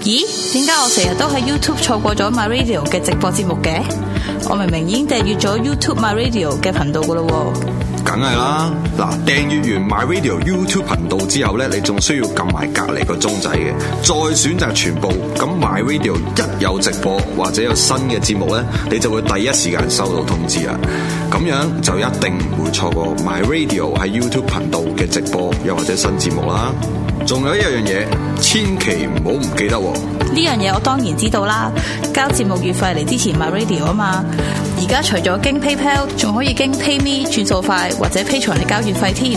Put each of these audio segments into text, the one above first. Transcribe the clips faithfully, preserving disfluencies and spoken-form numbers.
咦？點解我成日都喺 YouTube 錯過咗 My Radio 嘅直播節目嘅？我明明已經訂閱咗 YouTube My Radio 嘅頻道噶咯喎。 梗係啦，嗱，訂閱完 My Radio YouTube 頻道之後咧，你仲需要撳埋隔離個鐘仔嘅，再選擇全部。咁 My Radio 一有直播或者有新嘅節目咧，你就會第一時間收到通知啦。咁樣就一定唔會錯過 My Radio 喺 YouTube 頻道嘅直播又或者新節目啦。仲有一樣嘢，千祈唔好唔記得喎。 呢樣嘢我當然知道啦，交節目月費嚟支持 My Radio 啊嘛。而家除咗經 PayPal， 仲可以經 PayMe 轉數快或者 Patreon 嚟交月費添。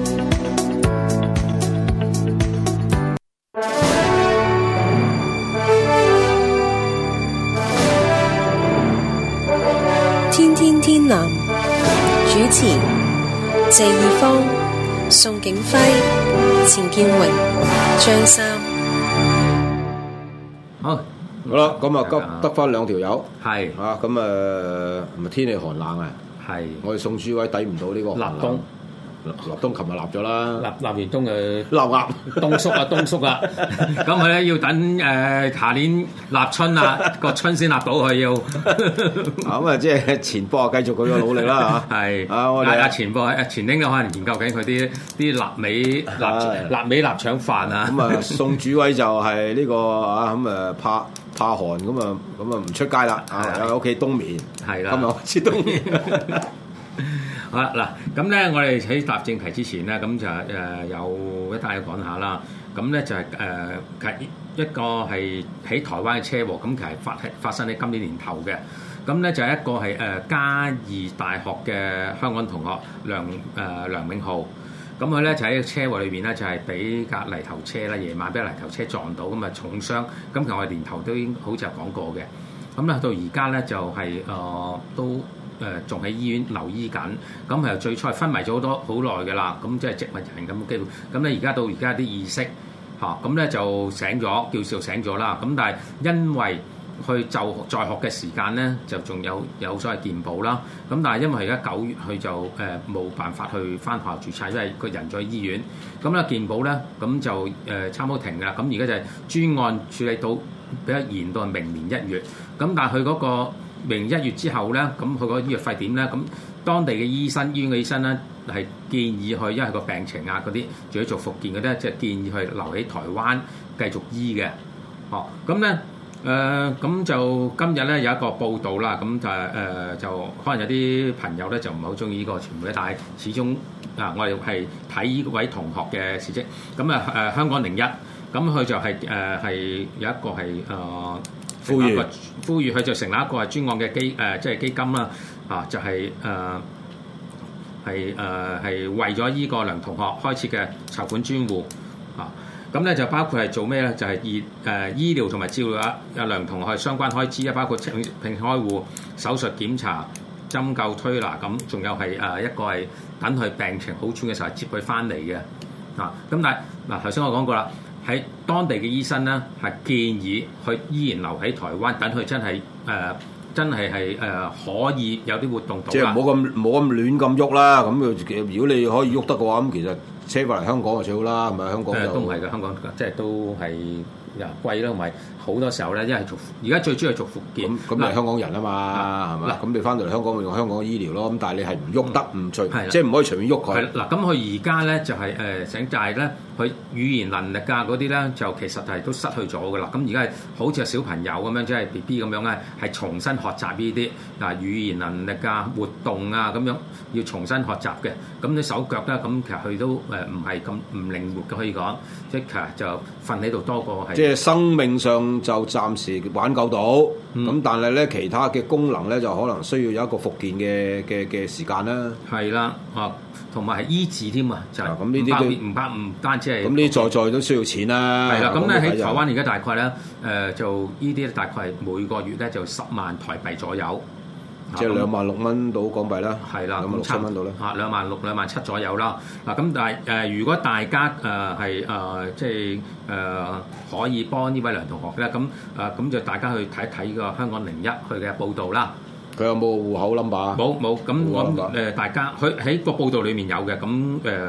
天天天藍主持謝義方、宋景輝、錢建榮、張三。 好， 好啦，咁啊，急得翻兩條友， 係啊，咁啊，咪天氣寒冷啊， 係， 我哋宋主委抵唔到呢個立冬， 立冬琴日立咗啦， 立立完冬誒， 立鴨冬縮啊，冬縮啊，咁佢咧要等誒下年立春啊，個春先立到佢要， 咁啊，即係前波啊，繼續佢嘅努力啦嚇， 係， 啊，我哋阿前波阿前丁都可能研究緊佢啲啲臘味臘臘味臘腸飯啊， 咁啊，宋主委就係呢個啊，咁啊怕怕寒，咁啊咁啊唔出街啦，啊喺屋企冬眠， 係啦， 今日開始冬眠。 好啦，嗱，咁咧，我哋喺答正題之前咧，咁就誒、呃、有一單嘢講下啦。咁咧就係、是、誒，其、呃、一個係喺台灣嘅車禍，咁其實發係發生喺今年年頭嘅。咁咧就係一個係誒、呃、嘉義大學嘅香港同學梁誒、呃、梁永浩。咁佢咧就喺車禍裏邊咧，就係俾架泥頭車啦，夜晚俾泥頭車撞到，咁啊重傷。咁其實我哋年頭都已經好似有講過嘅。咁咧到而家咧就係、是、誒、呃、都。誒仲喺醫院留醫緊，咁係最初係昏迷咗好多好耐嘅啦，咁即係植物人咁嘅機會，咁咧而家到而家啲意識嚇，咁咧就醒咗，叫做醒咗啦，咁但係因為去就在學嘅時間咧，就仲有有所謂健保啦，咁但係因為而家九月佢就誒冇辦法去返學校註冊，因為個人在醫院，咁咧健保咧咁就誒差唔多停㗎啦，咁而家就係專案處理到比較延到係明年一月，咁但係佢嗰個。明年一月之後咧，咁佢個醫藥費點咧？咁當地嘅醫生、醫院嘅醫生咧，係建議佢，因為個病情啊嗰啲，仲要做復健嗰啲，即係建議佢留喺台灣繼續醫嘅。哦，咁咧誒，咁就今日咧有一個報道啦，咁就誒、呃、就可能有啲朋友咧就唔係好中意呢個傳媒，但係始終啊，我哋係睇呢位同學嘅事蹟。咁啊誒，香港零一，咁佢就係誒係有一個係誒。呃呼籲呼籲佢就成立一個係專案嘅基誒、呃，即係基金啦，啊，就係誒係誒係為咗依個梁同學開設嘅籌款專戶啊，咁咧就包括係做咩咧？就係醫誒醫療同埋照料阿阿梁同學相關開支啊，包括聘聘開戶、手術檢查、針灸推拿咁，仲有係誒一個係等佢病情好轉嘅時候接佢翻嚟嘅啊，咁但係嗱頭先我講過啦。喺當地嘅醫生咧，係建議佢依然留喺台灣，等佢真係誒、呃，真係係誒可以有啲活動到。即係唔好咁唔好咁亂咁喐啦。咁如果你可以喐得嘅話，咁其實車翻嚟香港就最好啦，係咪？香港就都唔係嘅，香港即係都係又貴啦，同埋好多時候咧，因為做而家最主要係做復健。咁咁你係香港人啊嘛，係咪？咁你翻到嚟香港咪用香港嘅醫療咯。咁但係你係唔喐得，唔、嗯、隨，即係唔可以隨便喐佢。嗱，咁佢而家咧就係誒醒，就係咧佢語言能力啊嗰啲咧，就其實係都失去咗㗎啦。咁而家係好似係小朋友咁樣，即係 B B 咁樣咧，係重新學習呢啲嗱語言能力啊、活動啊咁樣，要重新學習嘅。咁你手腳咧，咁其實佢都誒唔係咁唔靈活嘅，可以講，即係其實就瞓喺度多過係。即係生命上就暫時挽救到，咁、嗯、但係咧其他嘅功能咧就可能需要有一個復健嘅嘅嘅時間啦。係啦，啊，同埋係醫治添啊，就係咁呢啲都唔包唔單止係。咁呢在在都需要錢啦。係啦，咁咧喺台灣而家大概咧誒、呃、就呢啲大概係每個月咧就十萬台幣左右。即係兩萬六蚊到港幣啦，係啦，咁六七蚊到啦，嚇兩萬六兩萬七左右啦。嗱咁但係誒、呃，如果大家誒係誒即係誒、呃、可以幫呢位梁同學咧，咁誒咁就大家去睇一睇個香港零一佢嘅報導啦。佢有冇戶口 number？冇冇，咁咁誒大家佢喺個報導裡面有嘅，咁誒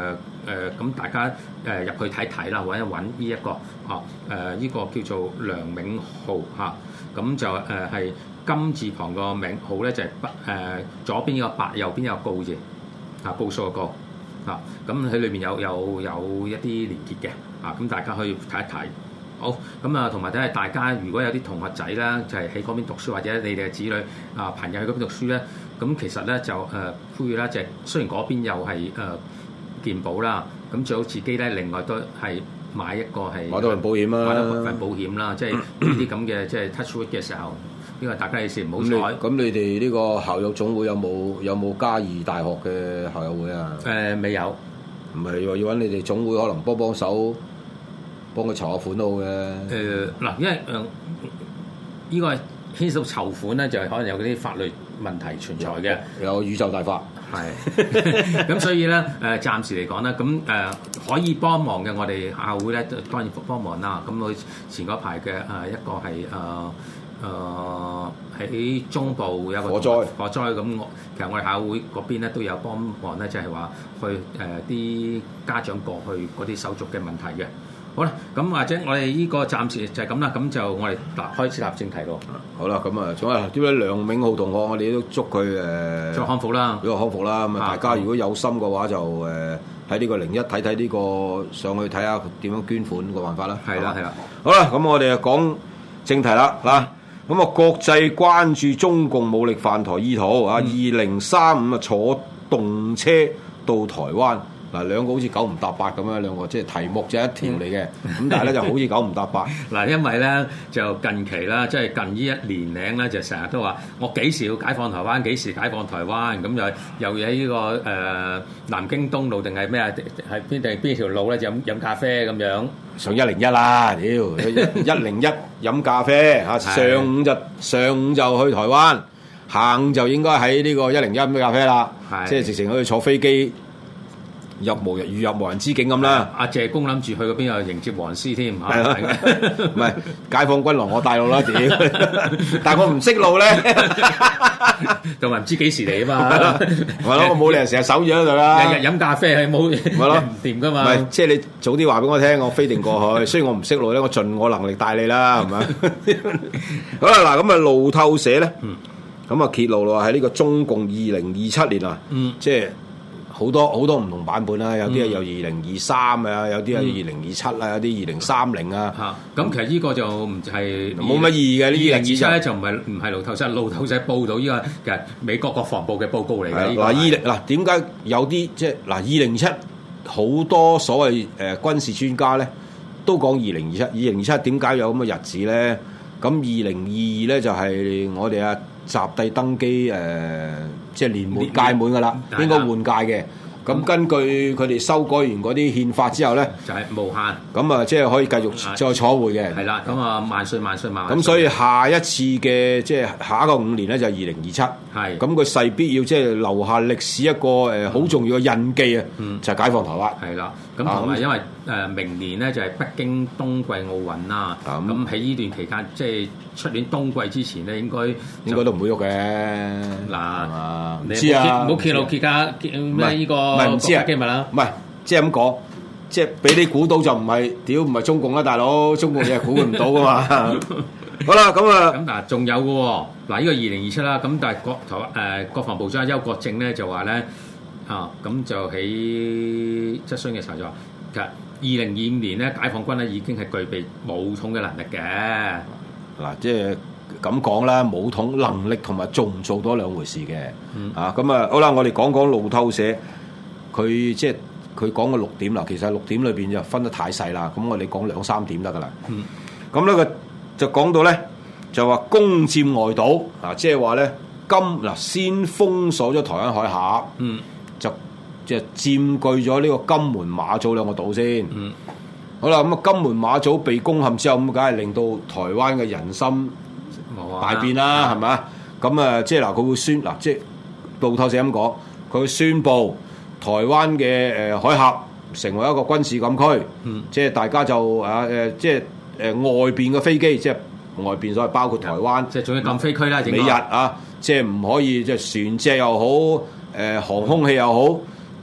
咁大家誒入、呃、去睇睇啦，或者揾呢一個啊誒呢個叫做梁銘浩嚇，咁、啊、就誒係、呃、金字旁個銘浩咧就係北誒左邊呢個白，右邊有個高字啊，高數個高啊，咁喺裏邊有有有一啲連結嘅啊，咁大家可以睇一睇。好，咁啊，同埋睇下大家如果有啲同學仔啦，就係喺嗰邊讀書，或者你哋嘅子女啊朋友喺嗰邊讀書咧，咁其實咧就誒呼籲啦，就係雖然嗰邊又係誒健保啦，咁最好自己咧另外都係買一個係買多份保險啦， 買多份保險啦，即係呢啲咁嘅即係 touch wood 嘅時候，因為大家有時唔好彩。 咁你哋呢個校友總會有冇有冇嘉義大學嘅校友會啊？ 誒、呃、未有， 唔係話要揾你哋總會可能幫幫手。幫佢籌下款都好嘅。 誒嗱，因為誒呢、呃這個牽涉到籌款咧，就係可能有嗰啲法律問題存在嘅。 有宇宙大法。 係。咁所以咧誒、呃，暫時嚟講咧，咁誒、呃、可以幫忙嘅，我哋校會咧當然幫忙啦。咁佢前嗰排嘅誒一個係誒誒喺中部有個火災， 火災咁我其實我哋校會嗰邊咧都有幫忙咧，就係、是、話去誒啲、呃、家長過去嗰啲手續嘅問題嘅。好啦，咁或者我哋呢個暫時就係咁啦，咁就我哋嗱開始立正題咯。 好啦，咁啊，仲有呢位梁銘浩同學，我哋都祝佢誒， 祝康復啦，呢個康復啦。咁啊，大家如果有心嘅話，就誒喺呢個零一睇睇呢個上去睇下點樣捐款個辦法啦。 係啦，係啦。 好啦，咁我哋啊講正題啦，嗱，咁啊國際關注中共武力犯台意圖啊，二零三五啊坐動車到台灣。嗱，兩個好似九唔搭八咁樣，兩個即係題目就係一條嚟嘅，咁但係咧就好似九唔搭八。嗱， 因為咧就近期啦，即係近呢一年零咧，就成日都話我幾時要解放台灣，幾時解放台灣，咁又又喺呢個誒、呃、南京東路定係咩啊？係邊定邊條路咧？就飲飲咖啡咁樣。 上一零一啦，屌一零一飲咖啡嚇，上午就上午就去台灣，下午就應該喺呢個一零一飲咖啡啦，即係直情可以坐飛機。入無人如入無人之境咁啦！ 阿謝公諗住去嗰邊又迎接黃絲添嚇， 唔係解放軍來我帶路啦，屌！但係我唔識路咧， 同埋唔知幾時嚟啊嘛， 係咯，我冇理由成日守住喺度啦， 日日飲咖啡係冇，係咯，唔掂噶嘛。唔係， 即係你早啲話俾我聽，我飛定過去。雖然我唔識路咧，我盡我能力帶你啦，係咪？好啦，嗱咁啊，路透社咧，咁啊揭露咯，喺呢個中共二零二七年啊，即係。好多好多唔同版本啦，有啲係有二零二三啊，有啲係二零二七啊，有啲二零三零啊。 嚇，咁其實呢個就唔係冇乜意義嘅。呢二零二七咧就唔係唔係路透社，路透社報道呢個其實美國國防部嘅報告嚟嘅。嗱，二零嗱點解有啲即係嗱二零七好多所謂誒、呃、軍事專家咧都講二零二七，二零二七點解有咁嘅日子咧？咁二零二二咧就係、是、我哋阿習帝登基誒。呃即係年滿屆滿㗎啦，應該換屆嘅。咁根據佢哋修改完嗰啲憲法之後咧， 就係無限。 咁啊，即係可以繼續再坐回嘅。 係啦，咁啊萬歲萬歲萬歲。 咁所以下一次嘅即係下一個五年咧就係二零二七。係。咁佢勢必要即係留下歷史一個誒好重要嘅印記啊，就係解放台灣。 係啦。咁同埋因為誒明年咧就係北京冬季奧運啦。咁喺呢段期間，即係出年冬季之前咧，應該應該都唔會喐嘅。 嗱， 唔知啊， 唔好揭露揭家咩呢個。 唔係唔知啊， 機密啦， 唔係即係咁講，即係俾你估到就唔係，屌唔係中共啦，大佬，中共嘢係估唔到噶嘛。好啦，咁啊， 咁嗱，仲有嘅喎，嗱呢個二零二七啦，咁但係國台誒國防部長邱國正咧就話咧啊，咁就喺質詢嘅時候就話，其實二零二五年咧解放軍咧已經係具備武統嘅能力嘅。 嗱，即係。咁講啦，武統能力同埋做唔做到兩回事嘅。嗯、啊，咁啊，好啦，我哋講講路透社，佢即係佢講嘅六點啦。其實六點裏邊就分得太細啦。咁我哋講兩三點得噶啦。咁咧、嗯，佢就講到咧，就話攻佔外島啊，即係話咧金嗱先封鎖咗台灣海峽，嗯、就即係佔據咗呢個金門馬祖兩個島先。嗯、好啦，咁啊金門馬祖被攻陷之後，咁梗係令到台灣嘅人心大變啦，係咪？咁啊，即係嗱，佢會宣嗱，即係路透社咁講，佢會宣布台灣嘅誒海峽成為一個軍事禁區，嗯、即係大家就啊誒，即係誒外邊嘅飛機，即係外邊所謂包括台灣， 即係仲要禁飛區啦， 美日啊，即係唔可以即係船隻又好，誒航空器又好，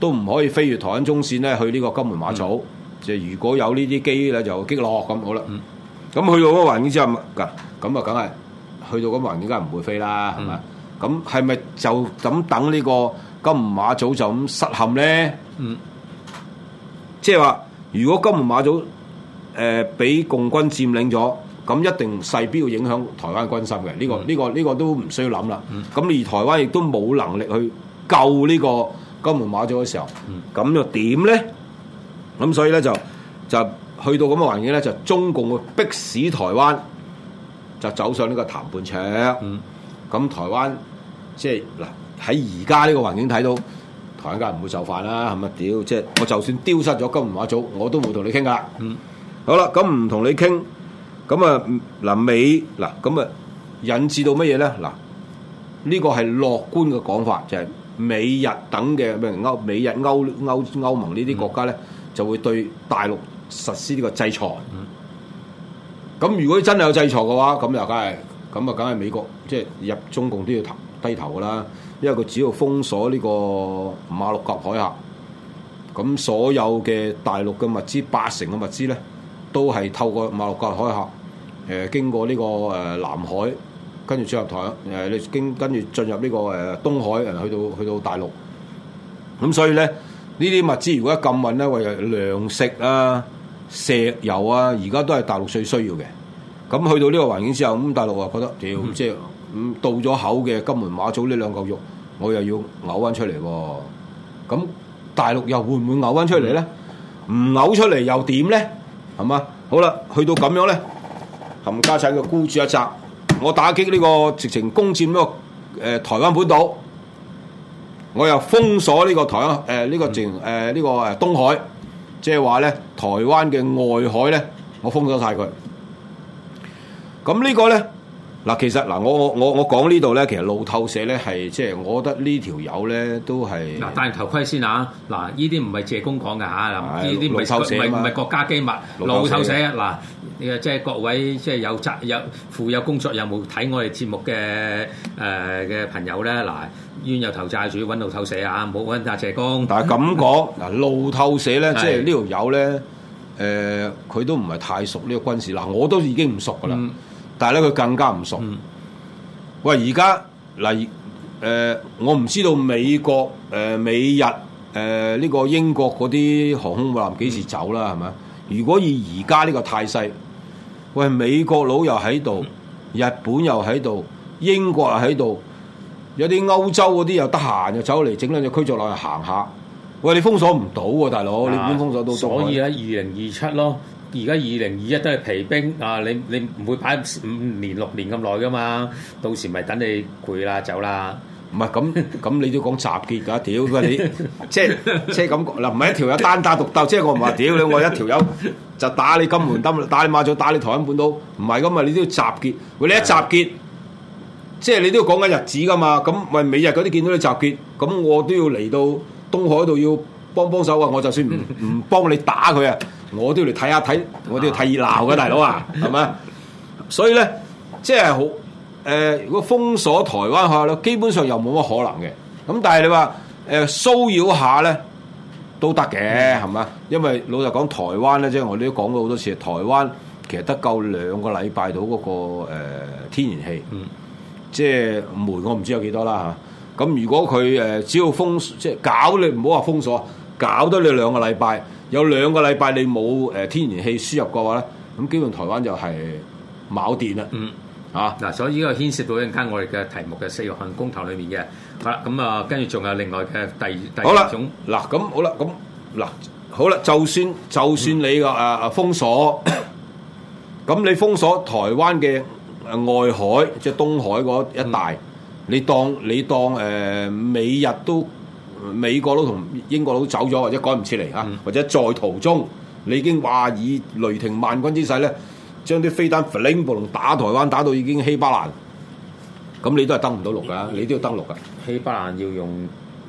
都唔可以飛越台灣中線咧去呢個金門馬祖。即係、嗯、如果有呢啲機咧就擊落咁好啦。咁、嗯、去到嗰個環境之後，咁啊梗係去到嗰個環境梗係唔會飛啦，係咪、嗯？咁係咪就咁等呢個金門馬祖就咁失陷咧？嗯，即係話如果金門馬祖誒俾、呃、共軍佔領咗，咁一定勢必要影響台灣軍心嘅。呢、這個呢、嗯這個呢、這個都唔需要諗啦。咁、嗯、而台灣亦都冇能力去救呢個金門馬祖嘅時候，咁、嗯、又點咧？咁所以咧就就去到咁嘅環境咧，就中共會迫使台灣就走上呢個談判桌。咁、嗯、台灣即係嗱喺而家呢個環境睇到，台灣梗係唔會就範啦，係咪？屌，即係我就算丟失咗金門馬祖，我都冇同你傾噶。嗯，好啦，咁唔同你傾，咁啊嗱美嗱咁啊引致到乜嘢咧？嗱，呢個係樂觀嘅講法，就係、是、美日等嘅咩歐美日歐歐歐盟呢啲國家咧。嗯就會對大陸實施呢個制裁。咁、嗯、如果真係有制裁嘅話，咁又梗係咁啊，梗係美國即係、就是、入中共都要低頭噶啦。因為佢只要封鎖呢個馬六甲海峽，咁所有嘅大陸嘅物資，八成嘅物資咧，都係透過馬六甲海峽，誒、呃、經過呢個誒南海，跟住進入台誒，你、呃、經跟住進入呢個誒東海，誒去到去到大陸。咁所以咧。呢啲物資如果一禁運咧，為糧食啊、石油啊，而家都係大陸最需要嘅。咁去到呢個環境之後，咁大陸話覺得屌，嗯、即係咁到咗口嘅金門馬祖呢兩嚿肉，我又要嘔翻出嚟喎。咁大陸又會唔會嘔翻出嚟咧？唔嘔出嚟又點咧？係嘛？好啦，去到咁樣咧，冚家產嘅孤注一擲，我打擊呢、這個直情攻佔呢、這個誒、呃、台灣本島。我又封鎖呢個台灣誒呢、呃這個淨誒呢個誒東海，即係話咧台灣嘅外海咧，我封鎖晒佢。咁呢個咧嗱，其實嗱我我我我講呢度咧，其實路透社咧係即係我覺得呢條友咧都係嗱戴頭盔先啊！嗱，呢啲唔係謝公講㗎嚇，呢啲唔係唔係唔係國家機密，路透社嗱，即係各位即係有責有負有工作任務睇我哋節目嘅誒嘅朋友咧嗱。冤有頭債主揾路透社啊，唔好揾阿謝公。但係咁講嗱，路透社咧，即係呢條友咧，誒、呃，佢都唔係太熟呢個軍事。嗱，我都已經唔熟噶啦，嗯、但係咧佢更加唔熟。嗯、喂，而家嗱，誒，我唔知道美國、誒、呃、美日、誒、呃、呢、這個英國嗰啲航空母艦幾時走啦？係咪、嗯？如果以而家呢個態勢，喂，美國佬又喺度，日本又喺度，英國又喺度。有啲歐洲嗰啲又得閒，又走嚟整兩隻驅逐艦去行下。喂，你封鎖唔到喎，大佬，你點封鎖到？所以咧，二零二七咯，而家二零二一都係疲兵啊！你你唔會擺五年六年咁耐噶嘛？到時咪等你攰啦，走啦。唔係咁咁，你都講集結㗎？屌你，即係即係咁嗱，唔係一條友單打獨鬥，即係我唔話屌你，我一條友就打你金門得，打你馬祖，打你台灣本島，唔係咁啊！你都要集結。喂，你一集結。即係你都要講緊日子噶嘛，咁喂美日嗰啲見到你集結，咁我都要嚟到東海度要幫幫手啊！我就算唔唔幫你打佢啊，我都要嚟睇下睇，我都要睇熱鬧嘅大佬啊，係咪？所以咧，即係好誒，如果封鎖台灣下咧，基本上又冇乜可能嘅。咁但係你話誒騷擾下咧都得嘅，係咪？因為老實講，台灣咧，即係我哋都講過好多次，台灣其實得夠兩個禮拜到嗰個誒天然氣。嗯即係煤，我唔知有幾多啦嚇。咁如果佢誒只要封，即係搞你唔好話封鎖，搞得你兩個禮拜，有兩個禮拜你冇誒天然氣輸入嘅話咧，咁基本台灣就係冇電啦。嗯，啊嗱，所以呢個牽涉到一陣間我哋嘅題目嘅四個項公投裏面嘅。好啦，咁啊，跟住仲有另外嘅第第二種。嗱，咁好啦，咁嗱，好啦，就算就算你個誒誒封鎖，咁你封鎖台灣嘅。外海即係東海嗰一帶，嗯、你當你當誒、呃、美日都美國佬同英國佬走咗，或者趕唔切嚟啊，嗯、或者在途中，你已經話以雷霆萬鈞之勢咧，將啲飛彈 fling 暴龍打台灣，打到已經稀巴爛，咁你都係登唔到陸㗎，你都要登陸㗎。稀巴爛要用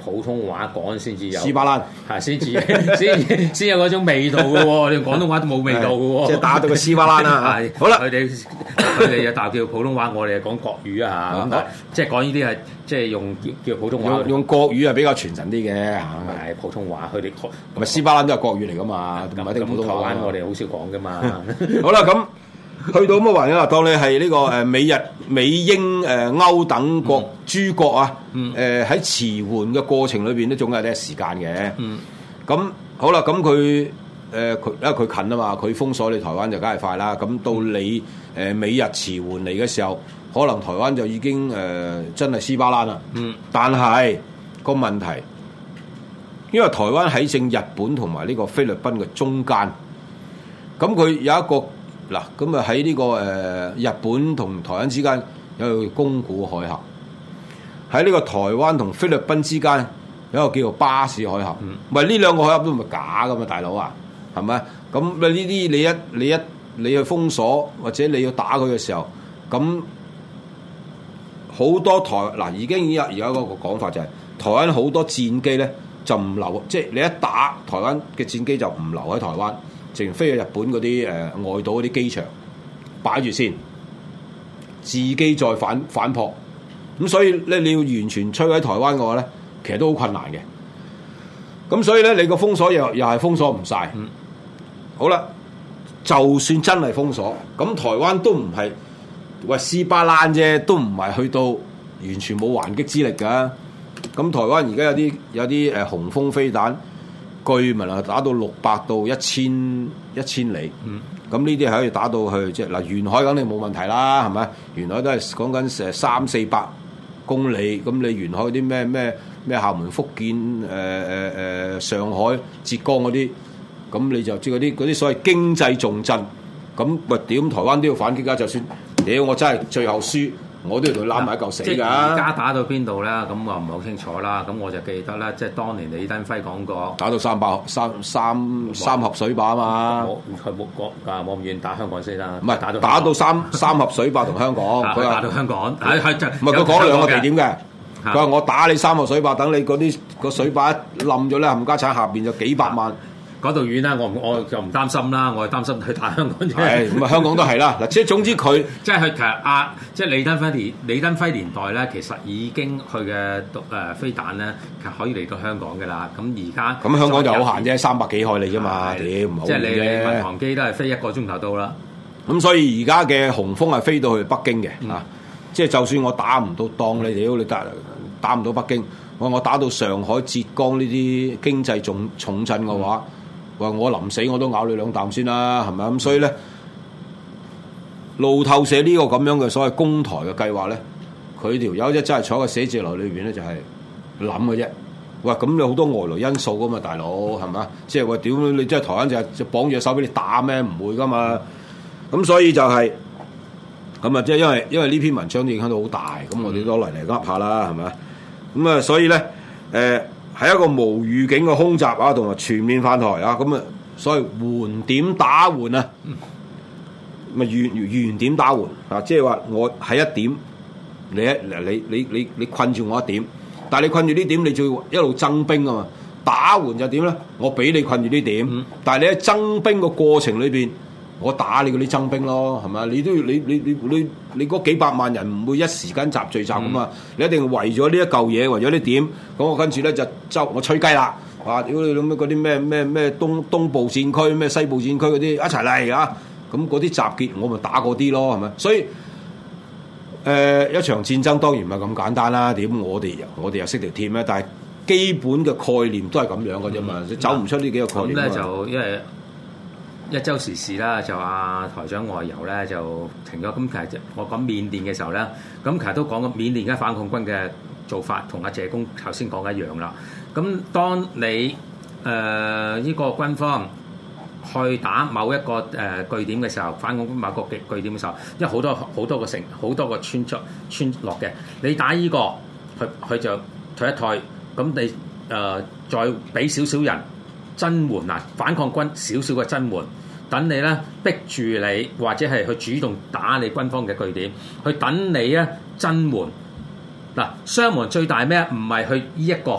普通話講先至有斯巴蘭係先至先先有嗰種味道嘅喎，你廣東話都冇味道嘅喎， 即係打到個斯巴蘭啦。 係好啦， 佢哋佢哋又大叫普通話，我哋係講國語啊嚇，咁即係講呢啲係即係用叫叫普通話， 用用國語係比較傳神啲嘅嚇。 係普通話，佢哋唔係斯巴蘭都係國語嚟噶嘛，唔係啲普通話。 台灣我哋好少講噶嘛。 好啦，咁去到咁嘅環境啦，當你係呢個誒美日美英誒歐等國諸國啊，誒喺遲緩嘅過程裏邊都總係啲時間嘅。咁好啦，咁佢誒佢因為佢近啊嘛，佢封鎖你台灣就梗係快啦。咁到你誒美日遲緩嚟嘅時候，可能台灣就已經誒真係斯巴蘭啦。嗯，但係個問題，因為台灣喺正日本同埋呢個菲律賓嘅中間，咁佢有一個。嗱，咁啊喺呢個誒、呃、日本同台灣之間有個宮古海峽，喺呢個台灣同菲律賓之間有一個叫做巴士海峽。唔係呢兩個海峽都唔係假噶嘛，大佬啊，係咪？咁呢啲你一你一你去封鎖或者你要打佢嘅時候，咁好多台嗱已經有而家嗰個講法就係、是、台灣好多戰機咧就唔留，即係你一打台灣嘅戰機就唔留喺台灣。淨飛去日本嗰啲誒外島嗰啲機場擺住先，自己再反反撲，咁所以咧你要完全摧毀台灣嘅話咧，其實都好困難嘅。咁所以咧你個封鎖又又係封鎖唔晒。嗯、好啦，就算真係封鎖，咁台灣都唔係喂斯巴蘭啫，都唔係去到完全冇還擊之力㗎。咁台灣而家有啲有啲誒雄風飛彈。據聞啊，打到六百到一千一千里，咁呢啲係可以打到去即係嗱，沿海肯定冇問題啦，係咪？沿海都係講緊成三四百公里，咁你沿海啲咩咩咩廈門、福建、誒誒誒上海、浙江嗰啲，咁你就即係嗰啲嗰啲所謂經濟重鎮，咁喂屌台灣都要反擊㗎，就算屌我真係最後輸。我都要同佢攬埋一嚿死㗎。即係而家打到邊度咧？咁我唔係好清楚啦。咁我就記得咧，即係當年李登輝講過， 打到三百三三三盒水壩啊嘛。 我佢冇講啊，冇咁遠打香港先啦。 唔係打到打到三三盒水壩同香港。 佢打到香港，係係就唔係佢講兩個地點嘅。佢話我打你三盒水壩，等你嗰啲個水壩一冧咗咧，冚家產下邊就幾百萬。 嗰度遠啦，我我就唔擔心啦，我係擔心去打香港啫。 係咁啊，香港都係啦。嗱，即係總之佢即係佢其實啊，即係李登輝年李登輝年代咧，其實已經佢嘅誒飛彈咧，其實可以嚟到香港嘅啦。咁而家咁香港就好閒啫，三百幾海里啫嘛，屌唔好即係你你民航機都係飛一個鐘頭到啦。 咁所以而家嘅雄風係飛到去北京嘅啊，即係就算我打唔到當你屌你打打唔到北京，我我打到上海、浙江呢啲經濟重重鎮嘅話。話我臨死我都咬你兩啖先啦，係咪咁？所以咧，路透社呢個咁樣嘅所謂攻台嘅計劃咧，佢條友一真係坐喺個寫字樓裏邊咧，就係諗嘅啫。喂，咁有好多外來因素噶嘛，大佬係咪？即係話屌你，即係台灣就係就綁住隻手俾你打咩？唔會噶嘛。咁所以就係咁啊！即係因為因為呢篇文章都影響到好大，咁我哋都嚟嚟噏下啦，係咪？咁啊，所以咧，誒、呃。係一個無預警嘅空襲啊，同埋全面犯台啊，咁啊，所謂緩點打緩啊，咪原原點打緩啊，即係話我喺一點，你一你你你你困住我一點，但係你困住呢點，你就要一路增兵啊嘛，打緩就點咧？我俾你困住呢點，嗯、但係你喺增兵嘅過程裏邊。我打你嗰啲增兵咯，係咪？你都要你你你你你嗰幾百萬人唔會一時間集聚集噶嘛？嗯、你一定為咗呢一嚿嘢，為咗呢點，咁我跟住咧就周我吹雞啦！哇！屌你諗咩嗰啲咩咩咩東東部戰區、咩西部戰區嗰啲一齊嚟啊！咁嗰啲集結我咪打嗰啲咯，係咪？所以誒、呃、一場戰爭當然唔係咁簡單啦。點我哋我哋又識條鐵咩？但係基本嘅概念都係咁樣嘅啫嘛，嗯、走唔出呢幾個概念。咁咧就因為。一週時事啦，就阿台長外遊咧就停咗。咁其實我講緬甸嘅時候咧，咁其實都講過緬甸而家反抗軍嘅做法，同阿謝公頭先講嘅一樣啦。咁當你誒依、呃這個軍方去打某一個誒、呃、據點嘅時候，反抗軍某個據據點嘅時候，因為好多好多個城、好多個村莊村落嘅，你打依、這個，佢佢就退一退，咁你誒、呃、再俾少少人增援啊，反抗軍少少嘅增援。等你咧逼住你，或者係去主動打你軍方嘅據點，去等你咧增援。嗱，傷亡最大咩？唔係去呢一個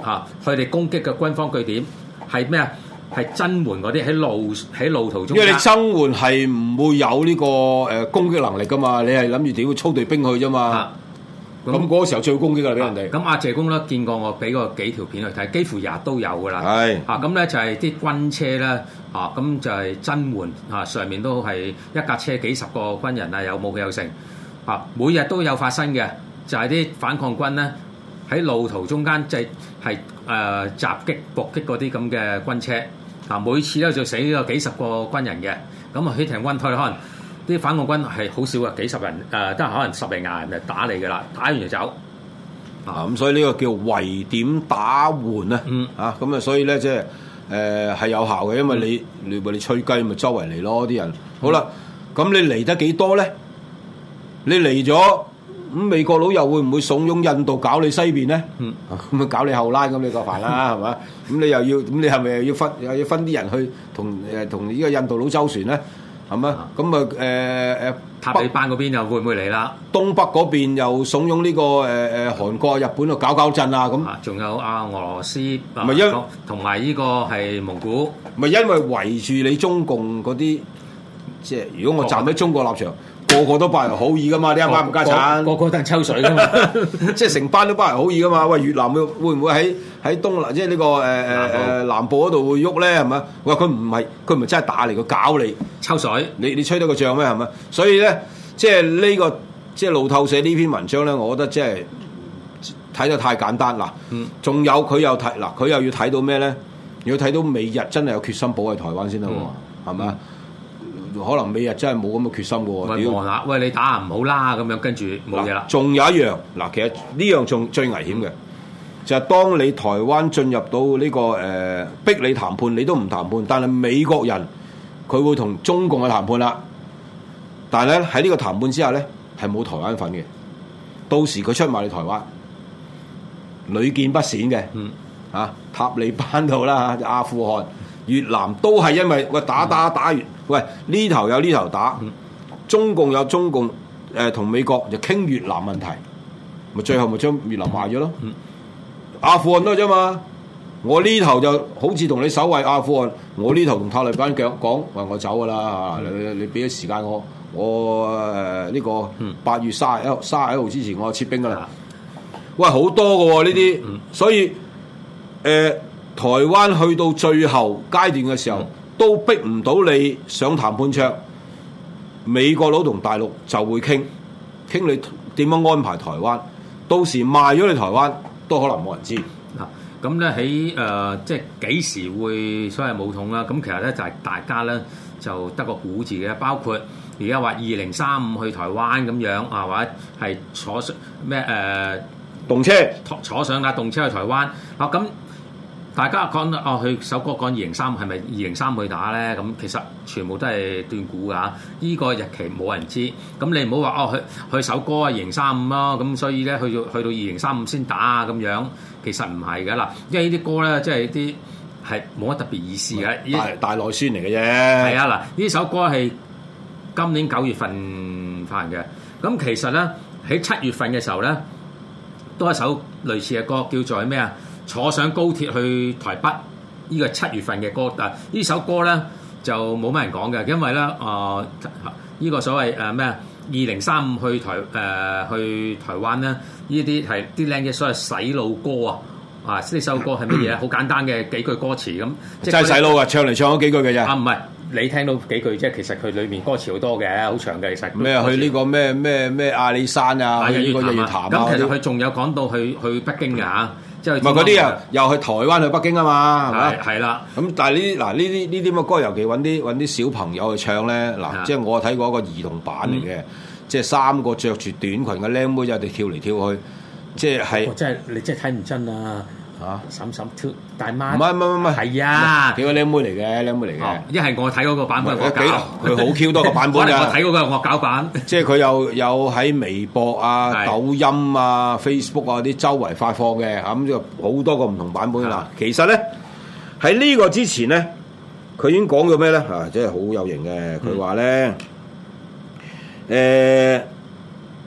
嚇，佢哋攻擊嘅軍方據點係咩啊？係增援嗰啲喺路喺路途中間。因為你增援係唔會有呢個誒攻擊能力噶嘛，你係諗住點會操隊兵去啫嘛。咁嗰個時候最攻擊㗎啦，俾人哋。咁阿謝公咧見過我俾個幾條片去睇，幾乎日日都有㗎啦。 係啊，咁咧就係啲軍車咧啊，咁就係增援啊，上面都係一架車幾十個軍人啊，有武器有成啊，每日都有發生嘅，就係啲反抗軍咧喺路途中間即係係誒襲擊伏擊嗰啲咁嘅軍車。啊！每次咧就死咗幾十個軍人嘅，咁啊起停軍退，可能啲反抗軍係好少嘅，幾十人誒，都、呃、係可能十零廿人就打你嘅啦，打完就走。 啊咁，所以呢個叫圍點打援啊， 嗯啊咁啊，所以咧即係誒係有效嘅，因為你你咪你吹雞咪周圍嚟咯啲人。好啦，咁、嗯、你嚟得幾多咧？你嚟咗。咁美國佬又會唔會慫恿印度搞你西邊咧？嗯，咁啊搞你後拉咁你個煩啦，係嘛？咁你又要咁你係咪又要分又要分啲人去同誒同呢個印度佬周旋咧？係嘛？咁啊誒誒塔利班嗰邊又會唔會嚟啦？ 東北嗰邊又慫恿呢個誒誒韓國、日本度搞搞震啊咁。 仲有啊俄羅斯， 咪因同埋呢個係蒙古， 咪因為圍住你中共嗰啲，即係如果我站喺中國立場。個個都拜仁好意噶嘛，啲啱唔家產， 個個都係抽水噶嘛， 即係成班都拜仁好意噶嘛。喂，越南會會唔會喺喺東南，即係呢個誒誒誒南部嗰度會喐咧？係咪？喂，佢唔係佢唔係真係打嚟，佢搞你抽水， 你你吹得個仗咩？係咪？所以咧，即係呢個即係路透社呢篇文章咧，我覺得即係睇得太簡單嗱。仲、嗯、有佢又睇嗱，佢又要睇到咩咧？要睇到美日真係有決心保衞台灣先得喎，係咪啊？可能美日真係冇咁嘅決心嘅喎。 喂，望下，喂，你打唔好啦，咁樣跟住冇嘢啦。 仲有一樣嗱，其實呢樣仲最危險嘅，就係、是、當你台灣進入到呢、這個誒、呃、逼你談判，你都唔談判，但係美國人佢會同中共去談判啦。但係咧喺呢個談判之下咧，係冇台灣份嘅。到時佢出賣你台灣，屢見不鮮嘅。嗯，啊，塔利班度啦，阿富汗、越南都係因為喂打打打完。喂，呢頭有呢頭打，嗯、中共有中共誒同、呃、美國就傾越南問題，咪最後咪將越南賣咗咯。嗯、阿富汗都係啫嘛，我呢頭就好似同你守衛阿富汗，我呢頭同塔利班講講話我走噶啦、嗯，你你俾咗時間我，我誒呢、呃這個八月卅一號卅一號之前我就撤兵噶啦。嗯、喂，好多嘅喎呢啲，嗯、所以誒、呃、台灣去到最後階段嘅時候。嗯都逼唔到你上談判桌，美國佬同大陸就會傾傾你點樣安排台灣，到時賣咗你台灣都可能冇人知。 嗱，咁咧喺誒即係幾時會所謂武統啦？咁其實咧就係大家咧就得個估字嘅，包括而家話二零三五去台灣咁樣啊，或者係坐上咩誒、呃、 動車坐上架動車去台灣啊咁。大家講哦，佢首歌講二零三係咪二零三去打咧？咁其實全部都係斷估㗎。依、這個日期冇人知。咁你唔好話哦，佢佢首歌啊二零三五咯。咁所以咧去到去到二零三五先打啊咁樣，其實唔係㗎啦。因為呢啲歌咧，即係啲係冇乜特別意思嘅。 大大內宣嚟嘅啫。 係啊，嗱，呢首歌係今年九月份發行嘅。咁其實咧喺七月份嘅時候咧，都係一首類似嘅歌，叫做咩啊？坐上高鐵去台北，呢個七月份嘅歌，但呢首歌咧就冇乜人講嘅，因為咧啊呢個所謂誒咩啊二零三五去台誒、呃、去台灣咧，呢啲係啲靚嘅所謂洗腦歌啊！啊呢首歌係乜嘢？好簡單嘅幾句歌詞咁， 即係洗腦啊！唱嚟唱咗幾句嘅啫。 啊唔係你聽到幾句啫，其實佢裏面歌詞好多嘅，好長嘅其實。 咩去呢個咩咩咩阿里山啊？去呢個日月潭啊？ 咁其實佢仲有講到去去北京嘅嚇。唔係嗰啲啊，又去台灣去北京啊嘛，係咪？ 係啦。咁但係呢啲嗱呢啲呢啲咁嘅歌，尤其揾啲揾啲小朋友去唱咧，嗱，即係我睇過一個兒童版嚟嘅，即係三個着住短裙嘅僆妹仔哋跳嚟跳去，即係係。即係你真係睇唔真啊！嚇，嬸嬸跳大媽。唔係唔係唔係，係啊，幾個僆妹嚟嘅，僆妹嚟嘅。一係我睇嗰個版本，我搞。佢好 Q 多個版本㗎。我睇嗰個惡搞版。即係佢又有喺微博啊、抖音啊、Facebook 啊啲周圍發放嘅，咁就好多個唔同版本啦。其實咧喺呢個之前咧，佢已經講咗咩咧？啊，即係好有型嘅。佢話咧，誒，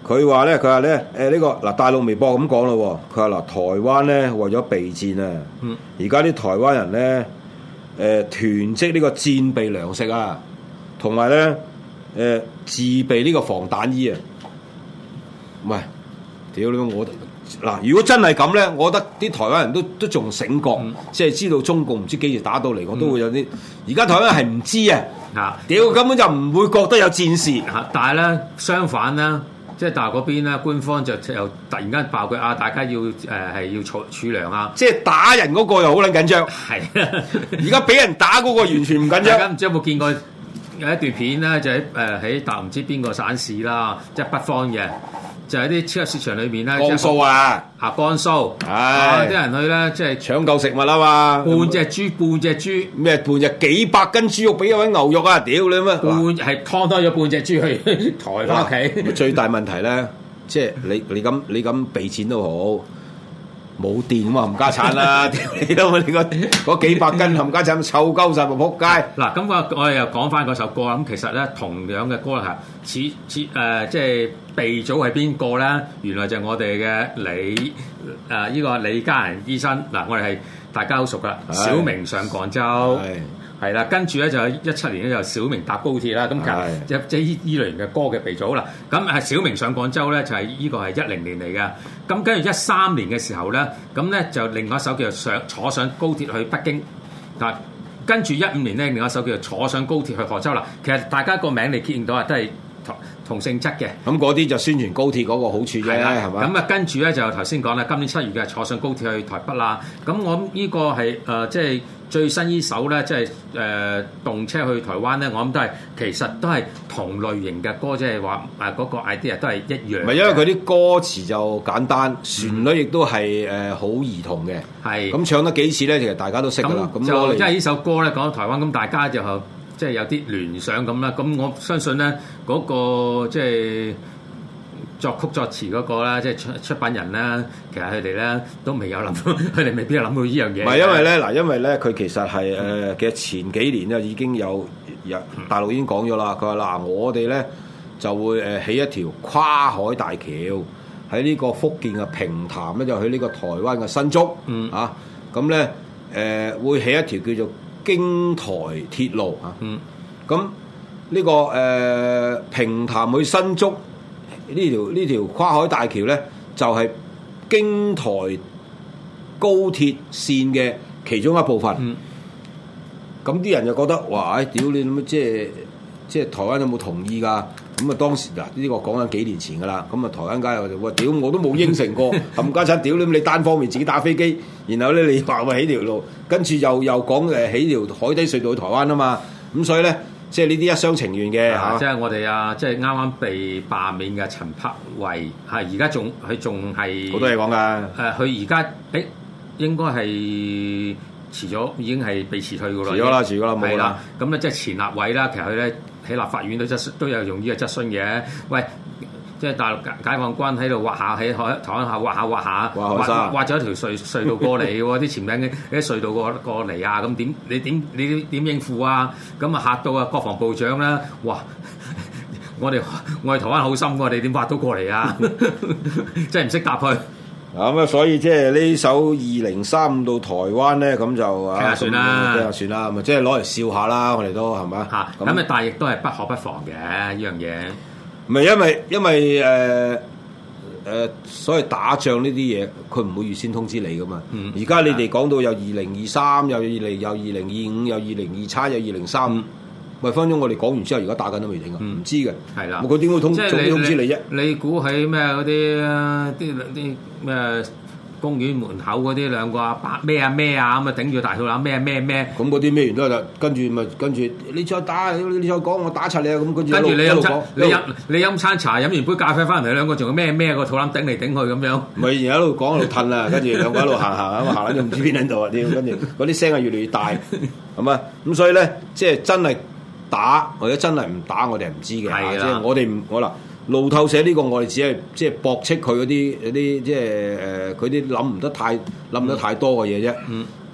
佢話咧，佢話咧，誒呢個嗱大陸微博咁講咯，佢話嗱台灣咧為咗備戰啊，而家啲台灣人咧誒、呃、囤積呢個戰備糧食啊，同埋咧誒自備呢個防彈衣啊，唔係，屌你我嗱，如果真係咁咧，我覺得啲台灣人都都仲醒覺，嗯、即係知道中共唔知幾時打到嚟，我都會有啲。而家、嗯、台灣人係唔知啊，嚇，屌根本就唔會覺得有戰事。 嚇，但係咧相反啦，即係大陸嗰邊咧，官方就又突然間爆佢啊，大家要誒係、呃、要儲儲糧啊， 即係打人嗰個又好撚緊張。 係， 而家俾人打嗰個完全唔緊張。 大家唔知有冇見過有一段片咧，就喺誒喺大陸唔知邊個省市啦，即係北方嘅。就喺啲超級市場裏面咧， 江蘇啊， 啊江蘇，啊啲人去咧，即係搶救食物啊嘛， 半隻豬，半隻豬， 咩半隻幾百斤豬肉俾一位牛肉啊！屌你乜？ 半係劏多咗半隻豬去抬翻屋企。 最大問題咧，即係你你咁你咁俾錢都好。冇電咁啊，冚家產啦！屌你都你個嗰幾百斤冚家產臭鳩晒，咪仆街！ 嗱，咁我我哋又講翻嗰首歌啦。咁其實咧，同樣嘅歌係似似誒，即係鼻祖係邊個咧？原來就係我哋嘅李誒呢、呃這個李家仁醫生。嗱，我哋係大家好熟噶，小明上廣州。係啦，跟住咧就一七年咧就小明搭高鐵啦，咁其實即係依依類型嘅歌嘅鼻祖啦。咁係小明上廣州咧就係、是、依個係一零年嚟嘅。咁跟住一三年嘅時候咧，咁咧就另外一首叫做上坐上高鐵去北京。嗱，跟住一五年咧另外一首叫做坐上高鐵去杭州啦。其實大家個名你見到啊，都係同同性質嘅。 咁嗰啲就宣傳高鐵嗰個好處啫，係嘛？ 咁啊跟住咧就頭先講啦，今年七月嘅坐上高鐵去台北啦。咁我諗呢個係誒、呃、即係。最新呢首咧，即係誒動車去台灣咧，我諗都係其實都係同類型嘅歌，即係話誒嗰個 idea 都係一樣。唔係因為佢啲歌詞就簡單，旋律亦都係誒好兒童嘅。係咁、嗯、唱得幾次咧，其實大家都識㗎啦。咁就即係呢首歌咧講到台灣，咁大家就即係有啲聯想咁啦。咁我相信咧嗰、那個即係。作曲作詞嗰個啦，即係出出品人啦，其實佢哋咧都未有諗到，佢哋未必有諗到呢樣嘢。 唔係因為咧，嗱，因為咧，佢其實係誒、呃，其實前幾年咧已經有有大陸已經講咗啦。佢話嗱，我哋咧就會誒起一條跨海大橋喺呢個福建嘅平潭咧，就去呢個台灣嘅新竹，嗯啊，咁咧誒會起一條叫做京台鐵路啊，嗯，咁呢、這個誒、呃、平潭去新竹。呢條呢條跨海大橋咧，就係、是、京台高鐵線嘅其中一部分。咁啲、嗯、人就覺得，哇！唉，屌你咁，即係即係台灣有冇同意㗎？咁啊，當時嗱呢、呢個講緊幾年前㗎啦。咁啊，台灣街又就話：屌我都冇應承過，冚家鏟，屌你！你單方面自己打飛機，然後咧你話咪起條路，跟住又又講誒起條海底隧道去台灣啊嘛。咁所以咧。即係呢啲一廂情願嘅嚇、啊， 即係我哋啊！即係啱啱被罷免嘅陳柏惟，係而家仲佢仲係好多嘢講㗎。誒、 呃，佢而家誒應該係辭咗，已經係被辭退㗎啦。 辭咗啦，辭咗啦，冇啦。 咁咧即係前立委啦，其實佢咧喺立法院都質都有用呢個質詢嘅。喂！即係大陸解放軍喺度挖下喺海台灣下挖下挖下挖挖咗一條隧隧道過嚟喎，啲潛艇嘅啲隧道過過嚟啊！咁點你點你點應付啊？咁啊嚇到啊國防部長啦！哇！我哋我哋台灣好深喎，你點挖到過嚟啊？真係唔識答佢。 咁啊，所以即係呢首二零三五到台灣咧，咁就啊算啦， 聽下算啦，咪即係攞嚟笑下啦，我哋都係咪？ 嚇咁啊，但係亦都係不可不防嘅呢樣嘢。 唔係因為因為誒誒、呃呃，所謂打仗呢啲嘢，佢唔會預先通知你噶嘛。而家、嗯、你哋講到有二零二三，有二零有二零二五，有二零二七，有二零三五。喂，分鐘我哋講完之後，而家打緊都未停啊，唔、嗯、知嘅。係啦的，佢點會通即係通知你啫？ 你估喺咩嗰啲啲啲咩？公園門口嗰啲兩個阿伯咩啊咩啊咁啊頂住大肚腩咩咩咩， 咁嗰啲咩完都係跟住咪跟住你再打你再講我打柒你啊咁跟住。 跟住你飲餐你飲你飲餐茶飲完杯咖啡翻嚟兩個仲有咩咩個肚腩頂嚟頂去咁樣。 咪而家喺度講喺度褪啊，跟住兩個喺度行行咁行緊就唔知邊喺度啊屌，跟住嗰啲聲係越嚟越大，係嘛咁所以咧即係真係打或者真係唔打我哋係唔知嘅，即係我哋唔我嗱。路透社呢個我哋只係即係駁斥佢嗰啲嗰啲即係誒佢啲諗唔得太諗得太多嘅嘢啫，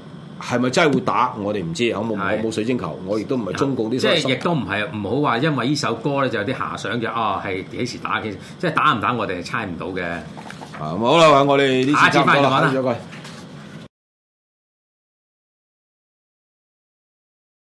係咪真係會打？我哋唔知，我冇我冇水晶球，我亦都唔係中共啲。 即係亦都唔係唔好話，因為呢首歌咧就有啲遐想嘅。哦，係幾時打？其實即係打唔打，我哋係猜唔到嘅。 啊，好啦，我哋呢次差唔多啦，下次再講。